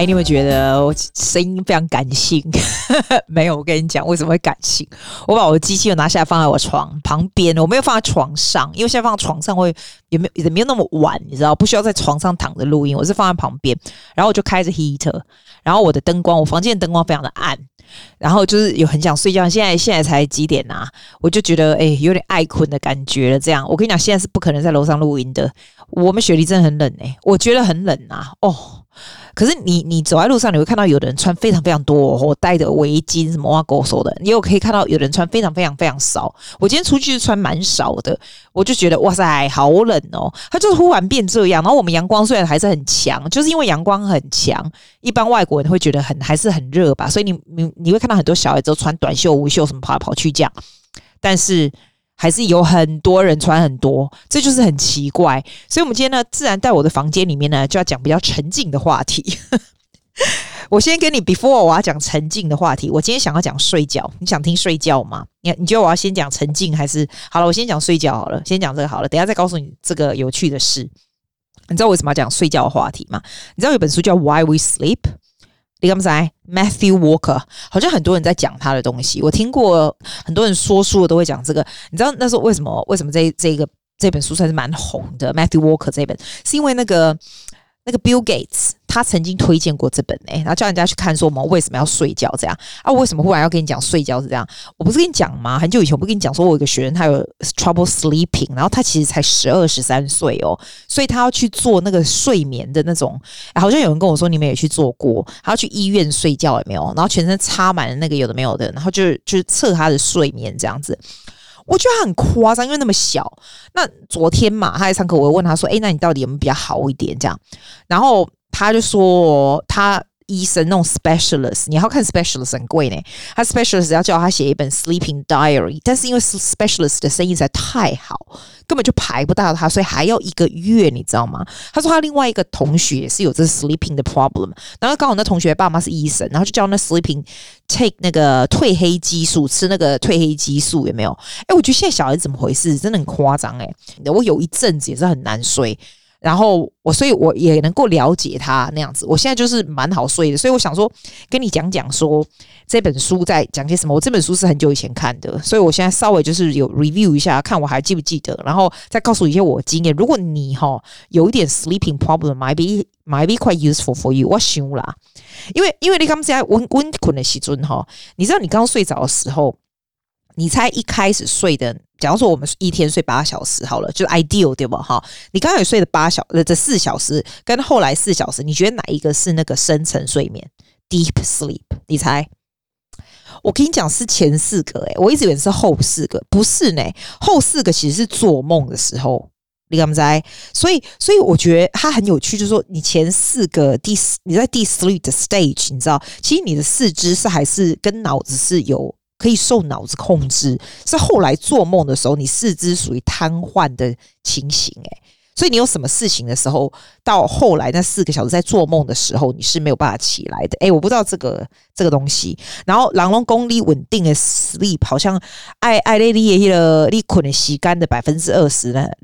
哎，你有沒有覺得我聲音非常感性？沒有，我跟你講為什麼會感性。我把我的機器人拿下來放在我床旁邊，我沒有放在床上，因為現在放在床上會也沒有那麼晚，你知道，不需要在床上躺着錄音。我是放在旁邊，然後我就開着 heater， 然後我的燈光，我房間的燈光非常的暗，然後就是有很想睡覺。現在才幾點啊？我就覺得有點愛睏的感覺了。這樣，我跟你講，現在是不可能在樓上錄音的。我們雪梨真的很冷我覺得很冷啊。可是你走在路上，你會看到有的人穿非常非常多，或戴着圍巾什麼挖狗手的，你有可以看到有的人穿非常非常非常少。我今天出去是穿蠻少的，我就覺得哇塞，好冷哦！它就是忽然變這樣，然後我們陽光雖然還是很強，就是因為陽光很強，一般外國人會覺得還是很熱吧，所以你會看到很多小孩子都穿短袖、無袖什麼跑来跑去這樣，但是還是有很多人穿很多，這就是很奇怪。所以我們今天呢，自然在我的房间裡面呢，就要講比較沉靜的話題。我先跟你 before 我要講沉靜的話題，我今天想要講睡覺，你想聽睡覺嗎？你覺得我要先講沉靜還是好了？我先講睡覺好了，先講這個好了，等一下再告訴你這個有趣的事。你知道為什麼要講睡覺的話題嗎？你知道有本書叫 Why We Sleep？你敢不知道 Matthew Walker 好像很多人在講他的東西，我聽過很多人說書的都會講這個。你知道那時候為什麼這本書算是蠻紅的 Matthew Walker 這本，是因為那個 Bill Gates 他曾經推薦過這本然後叫人家去看說我們為什麼要睡覺這樣啊？我為什麼忽然要跟你講睡覺是這樣？我不是跟你講嗎？很久以前我不跟你講說我有一個學生他有 trouble sleeping， 然後他其實才12、13歲所以他要去做那個睡眠的那種好像有人跟我說你們也去做過，他要去醫院睡覺有沒有？然後全身插滿了那個有的沒有的，然後就是測他的睡眠這樣子。我覺得他很誇張，因為那麼小。那昨天嘛，他在上課，我問他說：“那你到底有沒有比較好一點？”這樣，然後他就說他醫生那種 specialist， 你要看 specialist 很貴呢。他 specialist 要叫他寫一本 sleeping diary， 但是因為 specialist 的生意實在太好，根本就排不到他，所以還要1個月，你知道嗎？他說他另外一個同學也是有這 sleeping 的 problem， 然後剛好那同學爸媽是醫生，然後就叫那 sleeping take 那個褪黑激素，吃那個褪黑激素有沒有？我覺得現在小孩子怎麼回事？真的很誇張我有一陣子也是很難睡。然後所以我也能夠了解他那樣子，我現在就是蠻好睡的，所以我想說跟你講說這本書在講些什麼。我這本書是很久以前看的，所以我現在稍微就是有 review 一下，看我還記不記得，然後再告訴你一些我的經驗。如果你有一點 sleeping problem might be quite useful for you， 我想啦，因為你剛才溫困的時陣你知道你剛睡着的時候，你猜一開始睡的，假如說我們一天睡8小時好了，就 ideal 對吧？你剛才有睡的這4小時，跟後來4小时，你覺得哪一個是那個深層睡眠 deep sleep？ 你猜？我跟你講是前4個我一直以為是後4個，不是呢，後4個其實是做夢的時候，你敢不知道？所以我覺得它很有趣，就是說你前4個你在 deep sleep 的 stage， 你知道，其實你的四肢是還是跟腦子是有可以受腦子控制，是後來做夢的時候，你四肢屬於癱瘓的情形所以你有什麼事情的時候，到後來那4個小時在做夢的時候，你是沒有辦法起來的。我不知道這個東西。然後人攏說你穩定的 sleep 好像愛你的那個你困的時間的20%呢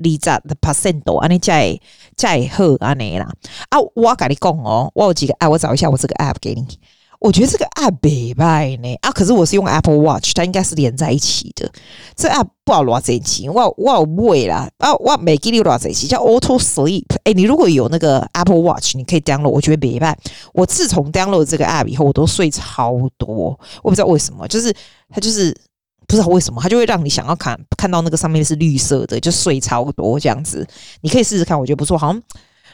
，20%安尼才會好安尼啦。我跟你講我有幾個我找一下我這個 app 給你。我覺得這個 app 不錯呢可是我是用 Apple Watch， 它應該是連在一起的。這 app 不知道多少錢，我有買啦我沒記得多少錢，叫 Auto Sleep。你如果有那個 Apple Watch， 你可以 download， 我覺得不錯。我自從 download 這個 app 以後，我都睡超多。我不知道為什麼，就是它就是不知道為什麼，它就會讓你想要看到那個上面是綠色的，就睡超多這樣子。你可以試試看，我覺得不錯，好像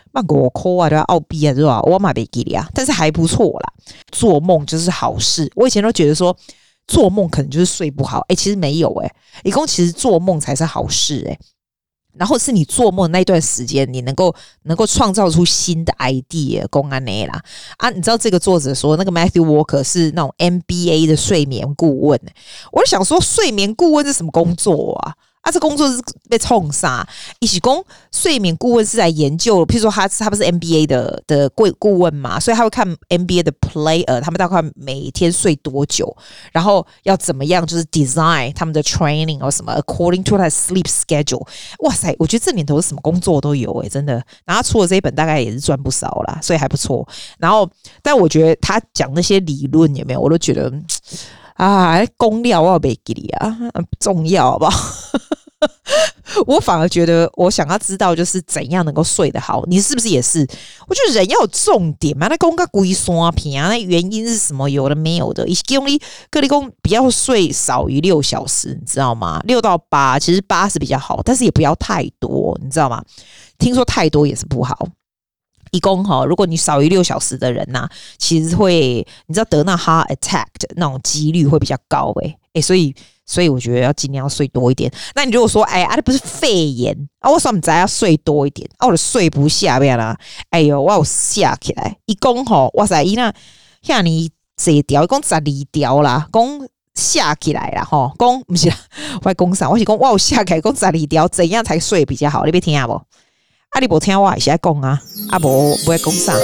5塊啊，對吧？澳幣啊，對吧？我買沒記得啊，但是還不錯啦。做夢就是好事，我以前都覺得說做夢可能就是睡不好，其實沒有一共其實做夢才是好事然後是你做夢那一段時間，你能夠創造出新的 idea， 公安內啦你知道這個作者說那個 Matthew Walker 是那種 MBA 的睡眠顧問我就想說睡眠顧問是什麼工作這工作是被衝殺。一起工睡眠顧問是來研究，譬如說他不是 NBA 的顧問嘛，所以他會看 NBA 的 player， 他們大概每天睡多久，然後要怎麼樣，就是 design 他們的 training 或什麼 according to their sleep schedule。哇塞，我覺得這年頭什麼工作都有真的。然後他出了這一本，大概也是賺不少啦，所以還不錯。然後，但我覺得他講那些理論有沒有，我都覺得公料我要沒給你啊，重要好不好？我反而覺得，我想要知道就是怎樣能夠睡得好。你是不是也是？我覺得人要有重點嘛。那公個龜刷屏啊，那原因是什麼？有的沒有的。各地公不要睡少於6小時，你知道嗎？6到8，其實8是比較好，但是也不要太多，你知道嗎？聽說太多也是不好。一共如果你少於6小時的人其實會，你知道得那 heart attack 的那種幾率會比較高所以我覺得要盡量要睡多一點。那你如果說那不是肺炎我說你再要睡多一點我就睡不下邊啦。哎呦，我有嚇起來，一共哇塞，那像你這條一共12條啦，講嚇起來啦講不是啦，我講啥？我是講我有嚇起來，講12條怎樣才睡比較好？你別聽不？你不聽我還是在講不會講啥？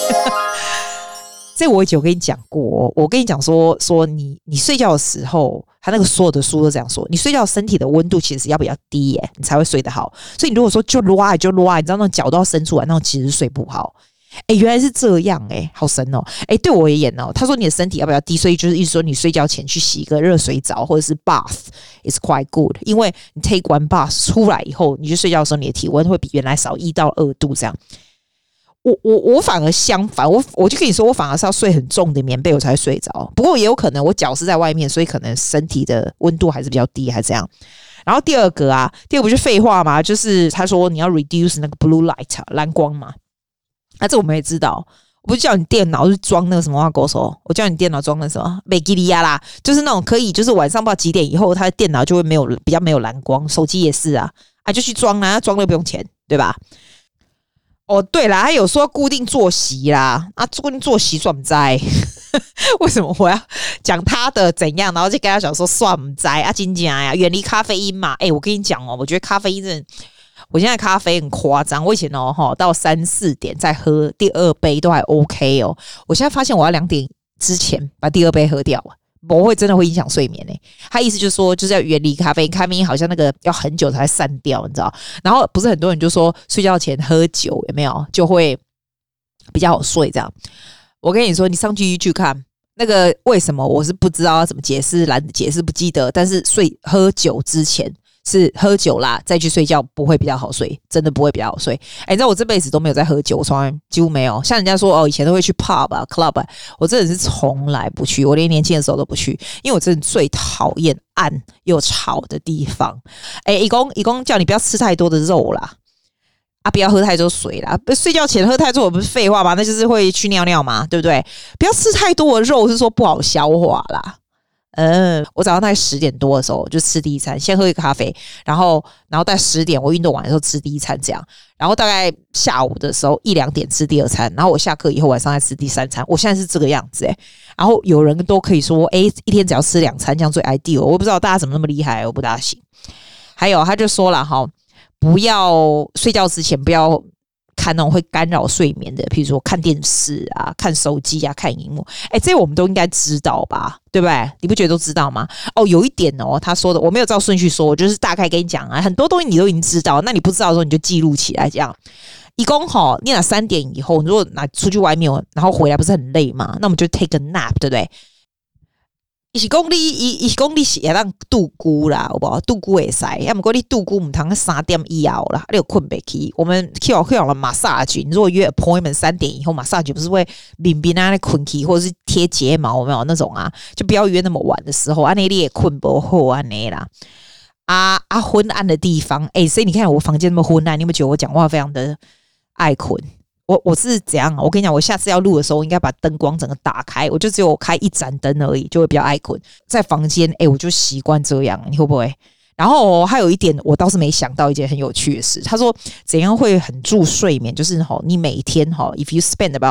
這我以前有跟你講過，我跟你講說你睡覺的時候，他那個所有的書都這樣說，你睡覺身體的溫度其實要比較低你才會睡得好。所以你如果說就拉，你知道那種腳都要伸出來，那種其實睡不好。原來是這樣好神哦。對我而言他說你的身體要比較低，所以就是意思說你睡覺前去洗一個熱水澡或者是 bath is quite good， 因為你 take one bath 出來以後，你去睡覺的時候，你的體溫會比原來少1到2度這樣。我反而相反，我就跟你說，我反而是要睡很重的棉被我才會睡着。不過也有可能我腳是在外面，所以可能身體的溫度還是比較低，還是這樣。然後第二個不是廢話嘛，就是他說你要 reduce 那個 blue light 藍光嘛。這我們也知道，我不是叫你電腦是裝那個什麼狗手，我叫你電腦裝那什麼美吉利亞啦，就是那種可以，就是晚上不知道幾點以後，他的電腦就会比較沒有藍光，手機也是就去裝啦，裝了不用錢，對吧？對啦，他有說固定作息啦，固定作息算不在，為什麼我要講他的怎樣，然後就跟他講說算不在真正呀，遠離咖啡因嘛。我跟你講我覺得咖啡因真的。我現在咖啡很誇張，我以前到3-4點再喝第2杯都還 OK 我現在發現我要2點之前把第2杯喝掉不會真的會影響睡眠他意思就是說就是要遠離咖啡因，咖啡因好像那個要很久才會散掉，你知道？然後不是很多人就說睡覺前喝酒有沒有就會比較好睡這樣？我跟你說，你上去 YouTube 看那個為什麼我是不知道要怎麼解釋，懶得解釋不記得，但是喝酒之前。是喝酒啦，再去睡覺不會比較好睡，真的不會比較好睡。你知道我這輩子都沒有在喝酒，我從來幾乎沒有。像人家說以前都會去 pub club，我真的是從來不去，我連年輕的時候都不去，因為我真的最討厭暗又吵的地方。一共叫你不要吃太多的肉啦，不要喝太多水啦，睡覺前喝太多不是廢話嗎？那就是會去尿尿嘛，對不對？不要吃太多的肉，是說不好消化啦。我早上大概10點多的時候就吃第一餐，先喝一個咖啡，然後大概10點我運動完的時候吃第一餐這樣，然後大概下午的時候1-2點吃第2餐，然後我下課以後晚上再吃第3餐，我現在是這個樣子然後有人都可以說一天只要吃2餐這樣最 ideal， 我不知道大家怎麼那麼厲害，我不大行。還有他就說了不要睡覺之前不要看那種會干擾睡眠的，譬如說看電視看手機看熒幕這些我們都應該知道吧，對不對？你不覺得都知道嗎？有一點他說的我沒有照順序說，我就是大概跟你講很多東西你都已經知道，那你不知道的時候你就記錄起來這樣。一共你拿3點以後，如果拿出去外面然後回來不是很累嘛，那我們就 take a nap， 對不對？一公里是要讓度孤啦，好不好？度孤會使，要麼過你度孤唔通3點以後啦，你有困不起。我們去了馬薩菊，你如果約 appointment 3點以後，馬薩菊不是會冰冰那困起，或者是貼睫毛有沒有那種就不要約那麼晚的時候，那你也困不好啦。昏暗的地方，所以你看我房間那麼昏暗，你有沒有覺得我講話非常的愛困？我是怎樣我跟你講，我下次要錄的時候應該把燈光整個打開，我就只有開1盞燈而已，就會比較愛困。在房間我就習慣這樣，你會不會？然後還有一點我倒是沒想到一件很有趣的事，他說怎樣會很助睡眠，就是你每天if you spend about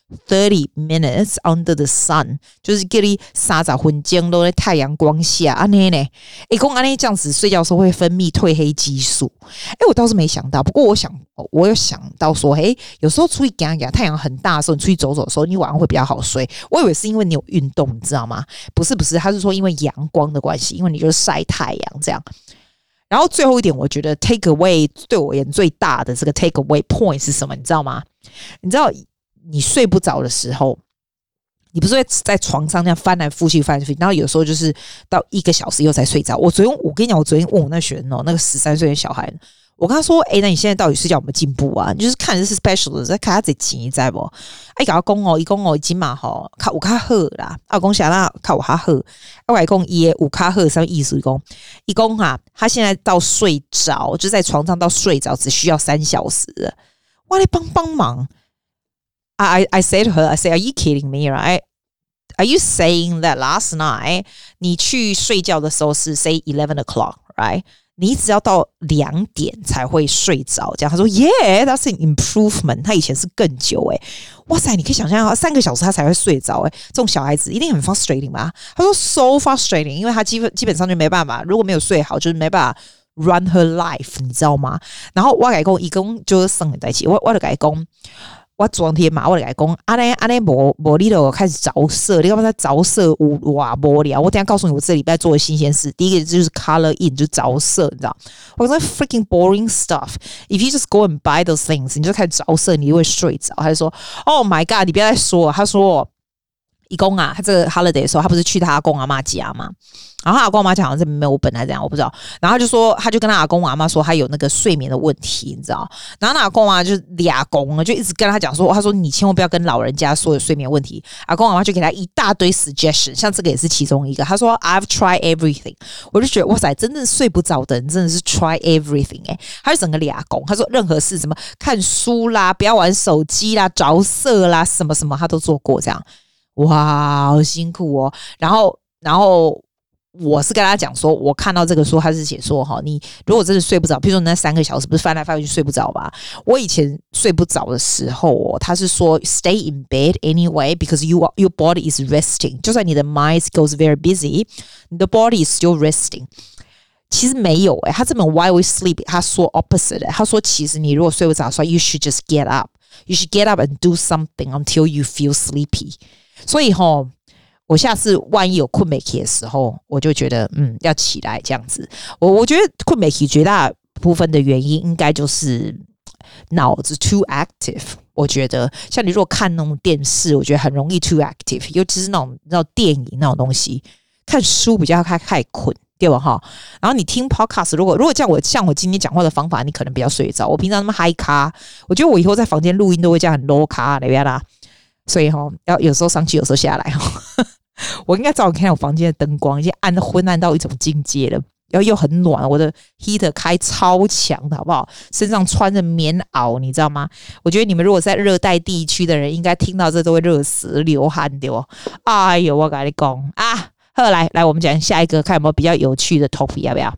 30 minutes under the sun， 就是叫你30分鐘都在太陽光下安尼呢。說安尼這樣子睡覺的時候會分泌褪黑激素。我倒是沒想到，不過我有想到說，有時候出去走走，太陽很大的時候，你出去走走的時候，你晚上會比較好睡。我以為是因為你有運動，你知道嗎？不是，他是說因為陽光的關係，因為你就是曬太陽這樣。然後最後一點，我覺得 take away 對我而言最大的這個 take away point 是什麼？你知道嗎？你知道你睡不着的時候，你不是會在床上這樣翻來覆去，然後有時候就是到1個小時以後才睡着。我跟你講，我昨天問我那學生那個13歲的小孩，我跟他說，那你現在到底睡覺有沒有進步啊？你就是看的是 special 的，在看他自己你知道不？跟他講他說已經嘛吼，較有較好啦。我講啥啦？較有較好。我講他有較好什麼意思？他說他現在到睡着，就在床上到睡着只需要3小時了。我來幫忙。I said to her, I said, are you kidding me, right? Are you saying that last night 你去睡覺的時候是 say 11 o'clock, right? 你只要到2點才會睡着，這樣他說 Yeah, that's an improvement. 他以前是更久哇塞，你可以想象3個小時他才會睡着這種小孩子一定很 frustrating 吧？他說 so frustrating， 因為他基本上就沒辦法，如果沒有睡好，就是沒辦法 run her life， 你知道嗎？然後我跟他說，一共就是生在一起，我就跟他說。我昨天嘛，我就跟他說，安尼沒你就開始着色，你幹嘛在着色？哇，無聊！我等一下告訴你，我這禮拜做的新鮮事。第一個就是 color in， 就着色，你知道？我說 freaking boring stuff。If you just go and buy those things， 你就開始着色，你就會睡着。他就說 ，Oh my god， 你不要再說了。他說，一公他這個 holiday 的時候，他不是去他阿公阿嬤家嗎？然後他阿公阿嬤講好像在沒有本來這樣，我不知道。然後他就跟他阿公阿嬤說他有那個睡眠的問題，你知道？然後那阿公啊就倆公就一直跟他講說，他說你千萬不要跟老人家說有睡眠問題。阿公阿嬤就給他一大堆 suggestion， 像這個也是其中一個。他說 I've tried everything， 我就覺得哇塞，真正睡不着的人真的是 try everything 他就整個倆公，他說任何事什麼看書啦，不要玩手機啦，着色啦，什麼什麼他都做過這樣。哇，好辛苦然後我是跟他講說，我看到這個書，他是寫說你如果真的睡不着，譬如說你那3個小時不是翻來翻去睡不着吧？我以前睡不着的時候他是說 stay in bed anyway because your body is resting， 就算你的 mind goes very busy， 你的 body is still resting。其實沒有他這本 Why We Sleep 他說 opposite， 他說其實你如果睡不着，所以 you should just get up， you should get up and do something until you feel sleepy。所以我下次萬一有困沒起的時候，我就覺得要起來這樣子。我覺得困沒起絕大部分的原因應該就是腦子 too active。我覺得像你如果看那種電視，我覺得很容易 too active， 尤其是那種電影那種東西，看書比較太困，對吧哈？然後你聽 podcast， 如果像我今天講話的方法，你可能比較睡着。我平常那麼嗨咖，我覺得我以後在房間錄音都會這樣很 low 咖的啦。所以要有時候上去，有時候下來我應該早點看我房間的燈光，已經昏暗到一種境界了，然後又很暖，我的 heater 開超強的好不好？身上穿着棉襖，你知道嗎？我覺得你們如果在熱帶地區的人，應該聽到這都會熱死流汗的哎呦，我跟你講啊，好，來，我們講下一個，看有沒有比較有趣的 topic， 要不要？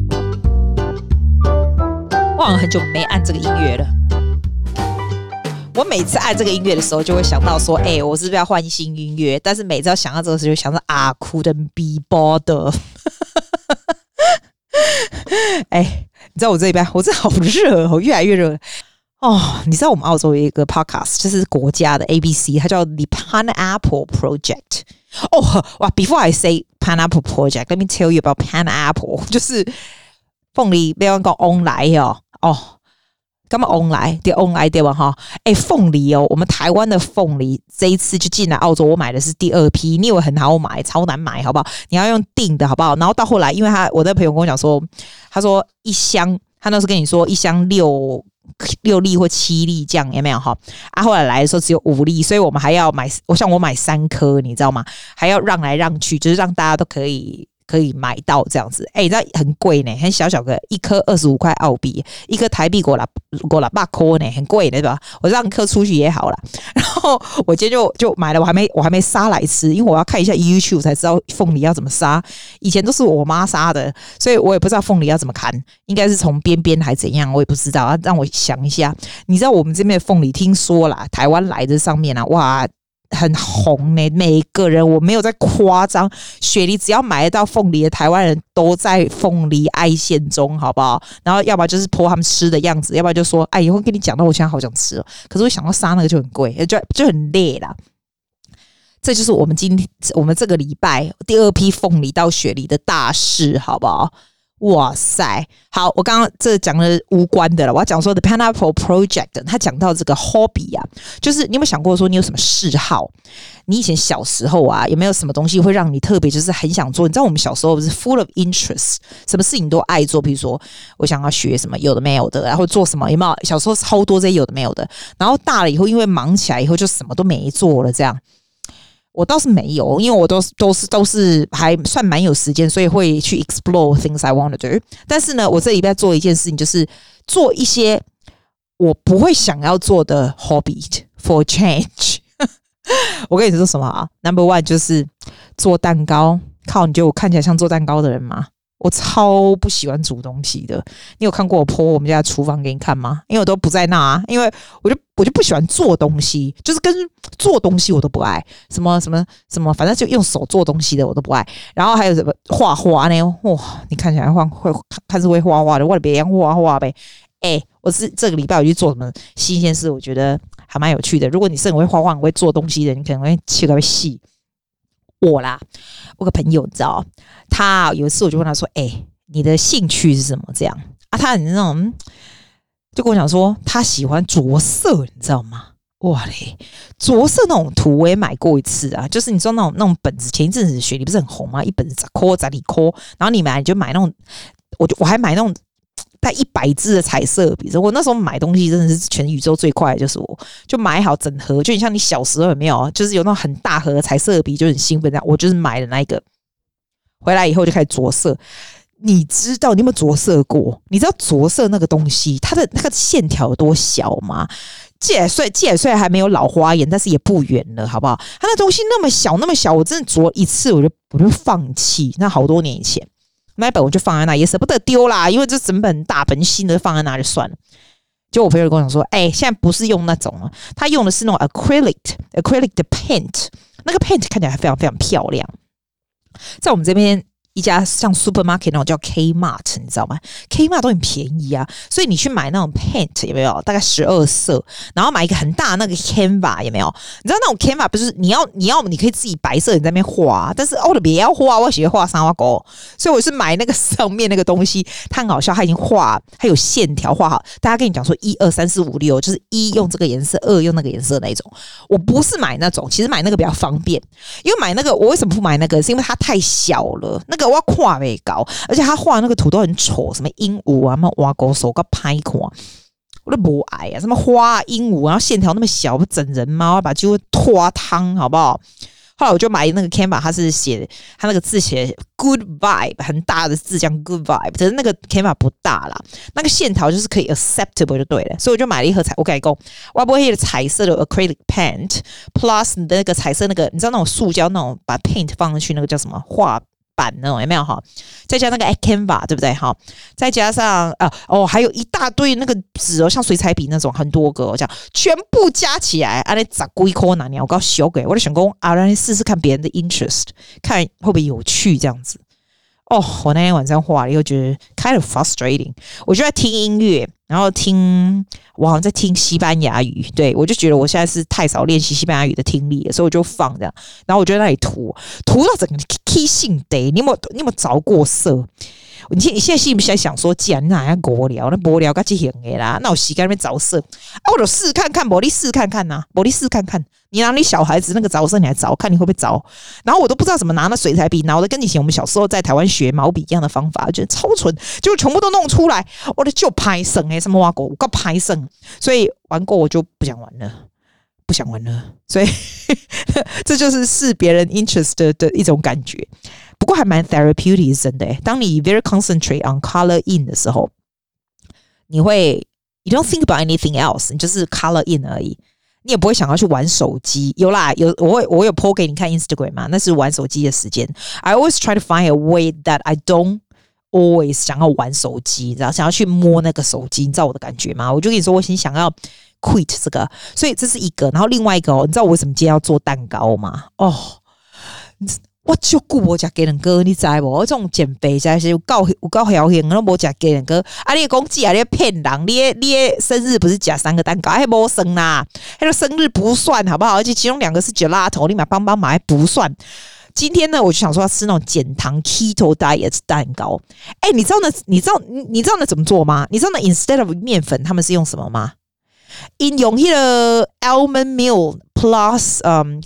我好像很久沒按這個音樂了。我每次按這個音樂的時候，就會想到說，我是不是要換新音樂？但是每次要想到這個時候，就想到couldn't be bothered。你知道我這一邊，我真的好熱，我越來越熱你知道我們澳洲有一個 podcast， 就是國家的 ABC， 它叫 The Pineapple Project。哇 ！Before I say Pineapple Project, let me tell you about Pineapple， 就是鳳梨，不要講 on 來幹嘛 on 來？對 on 來對吧？哈，鳳梨我們台灣的鳳梨這一次就進來澳洲，我買的是第2批。你以為很好買，超難買，好不好？你要用訂的，好不好？然後到後來，因為我的朋友跟我講說，他說一箱，他那時候跟你說一箱6粒或7粒這樣，有沒有哈？後來來的時候只有5粒，所以我們還要買，我買3顆，你知道嗎？還要讓來讓去，就是讓大家都可以可以買到這樣子。你知道很貴呢，很小小個一顆25塊澳幣，一顆台幣5啦8塊呢，很貴的對吧？我讓顆出去也好啦。然後我今天就買了，我還沒殺來吃，因為我要看一下 YouTube 才知道鳳梨要怎麼殺。以前都是我媽殺的，所以我也不知道鳳梨要怎麼砍，應該是從邊邊還怎樣，我也不知道。讓我想一下，你知道我們這邊的鳳梨，聽說啦，台灣來的上面啊，哇，很紅呢。每個人我沒有在誇張，雪梨只要買得到鳳梨的台灣人都在鳳梨愛線中，好不好？然後要不然就是po他們吃的樣子，要不然就說以後跟你講到我現在好想吃哦。可是我想到殺那個就很貴，就很累啦。這就是我們這個禮拜第2批鳳梨到雪梨的大事，好不好？哇塞，好，我剛剛這講的無關的了，我要講說 The Pineapple Project， 他講到這個 hobby 啊，就是你有沒有想過說你有什麼嗜好？你以前小時候啊，有沒有什麼東西會讓你特別就是很想做？你知道我們小時候是 full of interest， 什麼事情都愛做，比如說我想要學什麼有的沒有的，然後做什麼有沒有？小時候超多這些有的沒有的，然後大了以後因為忙起來以後就什麼都沒做了，這樣。我倒是沒有，因為我都是還算蠻有時間，所以會去 explore things I want to do。但是呢，我這禮拜做一件事情，就是做一些我不會想要做的 hobby for change。我跟你說什麼啊 ？Number one 就是做蛋糕。靠，你覺得我看起來像做蛋糕的人嗎？我超不喜歡煮東西的。你有看過我 po 我們家的廚房給你看嗎？因為我都不在那啊，因為我就不喜歡做東西，就是跟做東西我都不愛，什麼，反正就用手做東西的我都不愛。然後還有什麼畫畫呢？哇，你看起來會看是會畫畫的，我別樣畫畫唄。我是這個禮拜我去做什麼新鮮事，我覺得還蠻有趣的。如果你是很會畫畫、很會做東西的，你可能會切個細。我個朋友你知道，他有一次我就問他說：“你的興趣是什麼？”這樣啊，他很那種，就跟我講說他喜歡着色，你知道嗎？哇嘞，着色那種圖我也買過一次啊，就是你知道那種本子，前一陣子雪梨不是很紅嗎？一本10塊10塊，然後你就買那種，我還買那種帶100支的彩色筆，我那時候買東西真的是全宇宙最快的，就是我就買好整盒，就很像你小時候有沒有？就是有那種很大盒的彩色筆，就很興奮這樣。我就是買了那一個，回來以後就開始着色。你知道你有沒有着色過？你知道着色那個東西，它的那個線條有多小嗎？既然雖然還沒有老花眼，但是也不遠了，好不好？它那東西那麼小，我真的着一次我就放棄。那好多年以前。那一本我就放在那，也捨不得丟啦，因為這整本大本新的放在那就算了。就我朋友跟我講說，現在不是用那種了，他用的是那種 acrylic 的 paint， 那個 paint 看起來還非常非常漂亮。在我們這邊一家像 supermarket 那種叫 Kmart， 你知道嗎 ？Kmart 都很便宜啊，所以你去買那種 paint 有沒有？大概12色，然後買一個很大的那個 canva 有沒有？你知道那種 canva 不是你可以自己白色你在那邊畫，但是我的別要畫，我喜歡畫三花狗，所以我是買那個上面那個東西，它很好笑，它已經畫，它有線條畫好，大家跟你講說1、2、3、4、5、6，就是1用這個顏色，2用那個顏色那一種。我不是買那種，其實買那個比較方便，因為買那個我為什麼不買那個？是因為它太小了，那個。我看不到，而且他畫那個圖都很醜，什麼鸚鵡啊，什麼挖狗手，個拍看，我都不愛啊。什麼花鸚鵡，然後線條那麼小，不整人嗎？我要把它就拖湯，好不好？後來我就買那個 Canva， 他是寫他那個字寫 Good Vibe， 很大的字，講 Good Vibe， 可是那個 Canva 不大啦，那個線條就是可以 acceptable 就對了，所以我就買了一盒我跟你講，我不會的彩色的 acrylic paint plus 你的那個彩色那個，你知道那種塑膠那種把 paint 放上去那個叫什麼畫板那種有沒有哈？再加那個 Canva 對不對哈？再加上還有一大堆那個紙哦，像水彩筆那種很多個，這樣全部加起來，啊那10幾塊哪年我搞小給，我就想說讓你試試看別人的 interest， 看會不會有趣這樣子。我那天晚上畫了以後覺得 kind of frustrating， 我就在聽音樂，然後我好像在聽西班牙語，對，我就覺得我現在是太少練習西班牙語的聽力了，所以我就放這樣，然後我就在那裡塗到整個 key 性得，你有沒有着過色？你現在心裡想說，既然那還無聊，那無聊該去行的啦，那我時間那邊着色我就試看看，沒你試看看吶，沒你試看看，你拿你小孩子那個着色，你還着，看你會不會着？然後我都不知道怎麼拿那水彩筆，拿的跟以前我們小時候在台灣學毛筆一樣的方法，覺得超蠢，結果全部都弄出來，我的就拍生什麼挖狗，我拍生，所以玩過我就不想玩了，所以這就是別人 interest 的一種感覺。 不過還蠻 therapeutic 真的。當你 very concentrate on color in 的時候，你會 you don't think about anything else， 你就是 color in 而已，你也不會想要去玩手機。有啦，我有 po 給你看 Instagram 嘛，那是玩手機的時間。I always try to find a way that I don't always 想要玩手機，然後想要去摸那個手機，你知道我的感覺嗎？我就跟你說，我先想要 quit 這個，所以這是一個。然後另外一個你知道我為什麼今天要做蛋糕嗎？我就顧我吃雞蛋糕，你知無？我這種減肥真是有夠僥倖，我都無吃雞蛋糕。你的公雞啊，你騙人！你的生日不是吃3個蛋糕，還沒生啦，那個生日不算，好不好？而且其中2個是gelato，你買幫忙還不算。今天呢，我就想說要吃那種減糖 keto diet 蛋糕。你知道那怎麼做嗎？你知道那 instead of 麵粉，他們是用什麼嗎？用那個 almond meal plus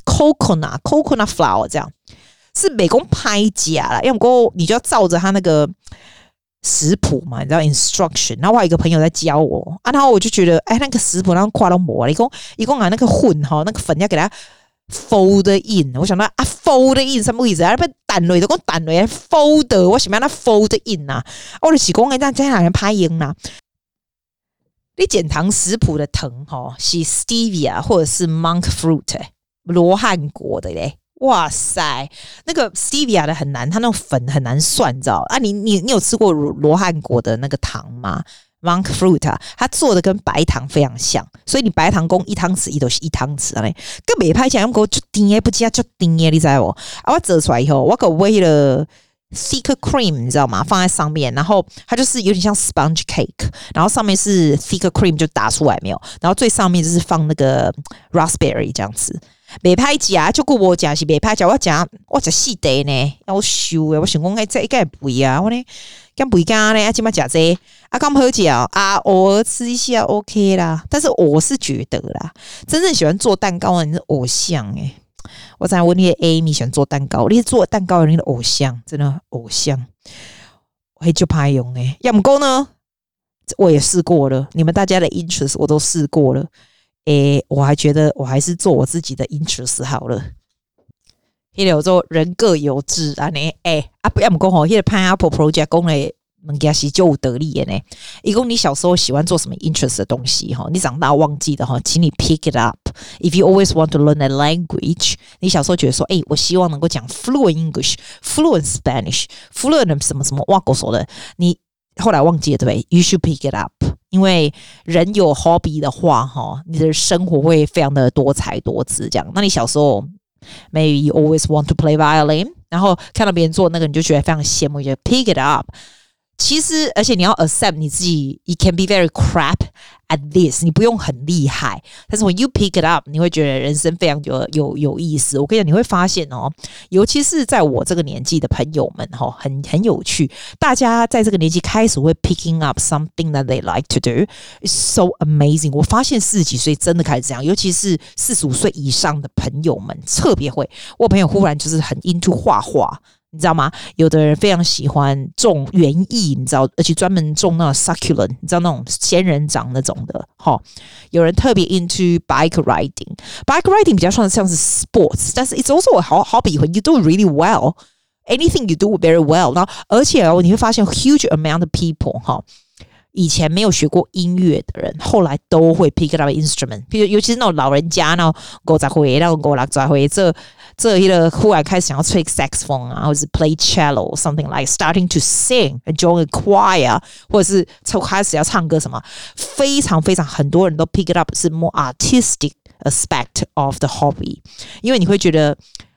coconut flour 這樣。是美工拍假啦，要不你就要照着他那個食譜嘛，你知道 instruction。然後我還有一個朋友在教我然後我就覺得，那個食譜讓跨到膜了，一共那個混哈，那個粉要給它 fold in。我想到fold in 什麼意思？不蛋類的，講蛋類 fold， 我想要那 fold in 啊，我就是講這樣在哪人拍音啦？你減糖食譜的糖是 stevia 或者是 monk fruit 羅漢果的嘞。哇塞，那個 stevia 的很難，它那種粉很難算，你知道你有吃過羅漢果的那個糖嗎？ monk fruit 它做的跟白糖非常像，所以你白糖講1湯匙，伊都是1湯匙嘞，跟袂歹講，用就甜不加就甜，你知道不？我做出來以後，我給為了 thick cream， 你知道嗎？放在上面，然後它就是有點像 sponge cake， 然後上面是 thick cream 就打出来沒有，然後最上面就是放那個 raspberry 這樣子。袂歹食，就顧我食是袂歹食，我食4袋呢，要收誒！我想講，這應該肥啊，我呢，咁肥干呢，今麥食這咁好食偶爾吃一下 OK 啦。但是我是覺得啦，真正喜歡做蛋糕的人是偶像誒。我在問你 Amy 喜歡做蛋糕，你做蛋糕的人的偶像，真的偶像，我還就怕用誒。要麼夠呢，我也試過了，你們大家的 interest 我都試過了。我還覺得我還是做我自己的 interest 好了。那個做人各有志啊，不要麼講吼，那個 Pineapple Project 講的物件是就有道理的呢。一共你小時候喜歡做什麼 interest 的東西哈，你長大忘記的哈，請你 pick it up. If you always want to learn a language， 你小時候覺得說，我希望能夠講 fluent English、fluent Spanish、fluent 什麼什麼哇狗手的，你後來忘記了對不對 ？You should pick it up。因為人有 hobby 的話你的生活會非常的多彩多姿這樣。那你小時候 maybe you always want to play violin， 然後看到別人做那個你就覺得非常羨慕，就 pick it up。其實而且你要 accept 你自己 you can be very crap at this， 你不用很厲害，但是 when you pick it up 你會覺得人生非常有意思。我跟你講，你會發現尤其是在我這個年紀的朋友們很有趣，大家在這個年紀開始會 picking up something that they like to do. It's so amazing。 我發現40幾歲真的開始這樣，尤其是45歲以上的朋友們特別會。我朋友忽然就是很 into 畫畫，你知道嗎？有的人非常喜歡種園藝，你知道，而且專門種那種 succulent， 你知道那種仙人掌那種的。有人特別 into bike riding。bike riding 比較像是 sports， 但是 it's also a hobby when you do it really well. Anything you do very well。然後而且你會發現 huge amount of people 以前沒有學過音樂的人，後來都會 pick up an instrument。比如尤其是那種老人家，那種50歲、那種50歲，這一個忽然開始想要吹 saxophone 啊，或者是 play cello something like starting to sing and join a choir， 或者是開始要唱歌什麼，非常非常很多人都 pick it up 是 more artistic aspect of the hobby， 因為你會覺得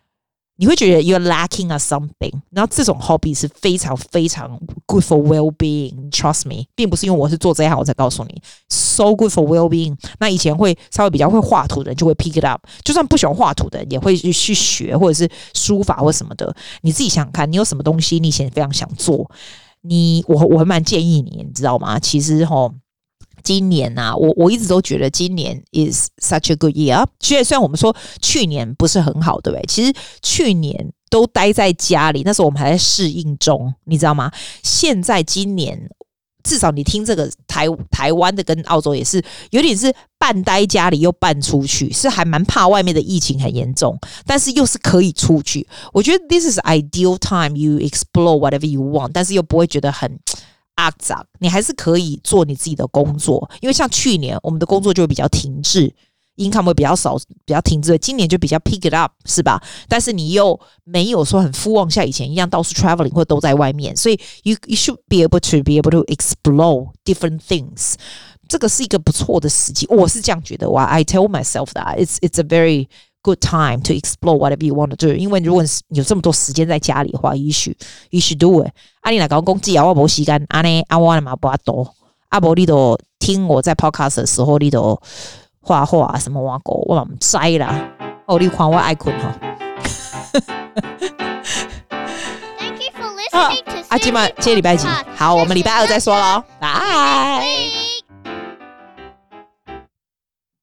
you're lacking at something， 然後這種 hobby 是非常非常 good for well-being， trust me， 並不是因為我是做這一行我才告訴你 so good for well-being。 那以前會稍微比較會畫圖的人就會 pick it up， 就算不喜歡畫圖的人也會去學，或者是書法或什麼的。你自己想想看，你有什麼東西你以前非常想做，我還蠻建議你知道嗎？其實今年啊，我一直都覺得今年 is such a good year。虽然我們說去年不是很好，對不對？其實去年都待在家裡，那時候我們還在適應中，你知道嗎？現在今年至少你聽這個台灣的跟澳洲也是有點是半待家裡又半出去，是還蠻怕外面的疫情很嚴重，但是又是可以出去。我覺得 this is ideal time you explore whatever you want， 但是又不會覺得很阿雜，你還是可以做你自己的工作。因為像去年我們的工作就會比較停滯。income 會比較少，比較停滯。今年就比較 pick it up， 是吧？但是你又沒有說很夫望像以前一樣到處 traveling 或都在外面，所以 you should be able to explore different things。這個是一個不錯的時機，我是這樣覺得。I tell myself that it's a very good time to explore whatever you want to do。因為如果你有這麼多時間在家裡的話 you should do it。你若講講我沒時間，我嘛不多。沒你就聽我在 podcast 的時候，你就畫畫什麼挖狗，我唔知啦。你看我愛困哈。今晚這禮拜幾？好，我們禮拜二再說咯。拜。